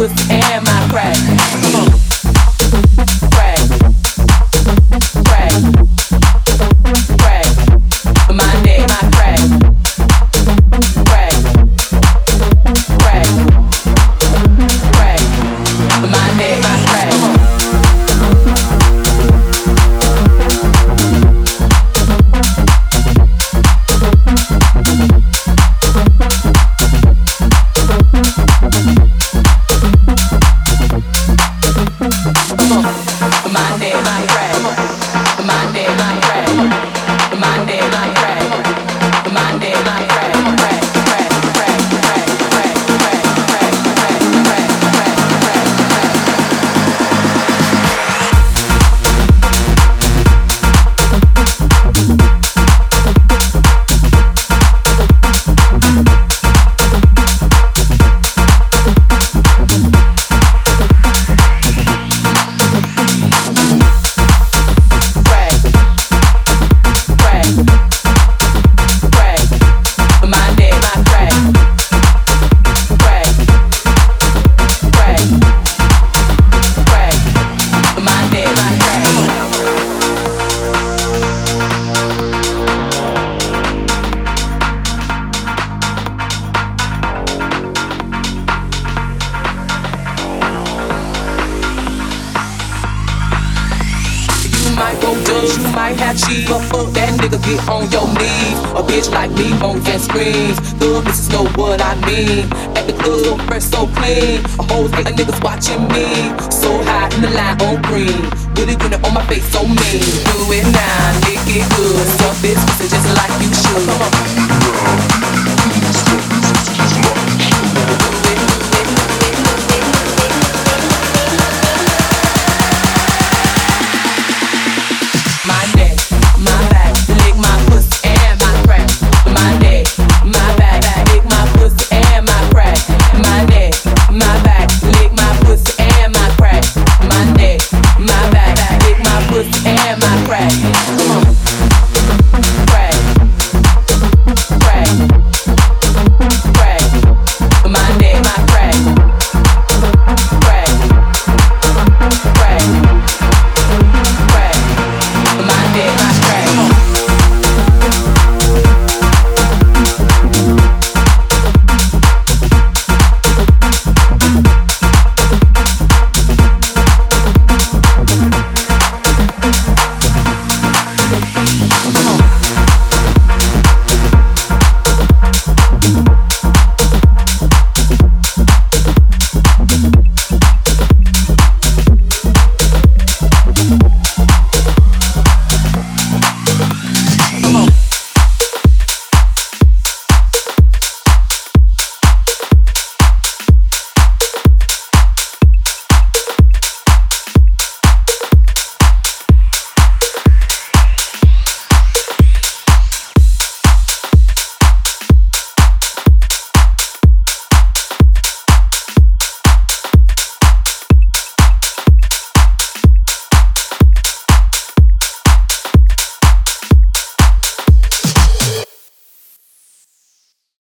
pussy and my crack. Come on. Crack. Crack. Crack. My neck, my crack. Crack. Crack. Crack. My neck, my crack. On your knees, a bitch like me moans and screams. Good bitches know what I mean. At the club, fresh so clean. A whole hate of niggas watching me. So high in the line on green. With a unit on my face so mean. Do it now, lick it good. Suck this pussy just like you should. Come on.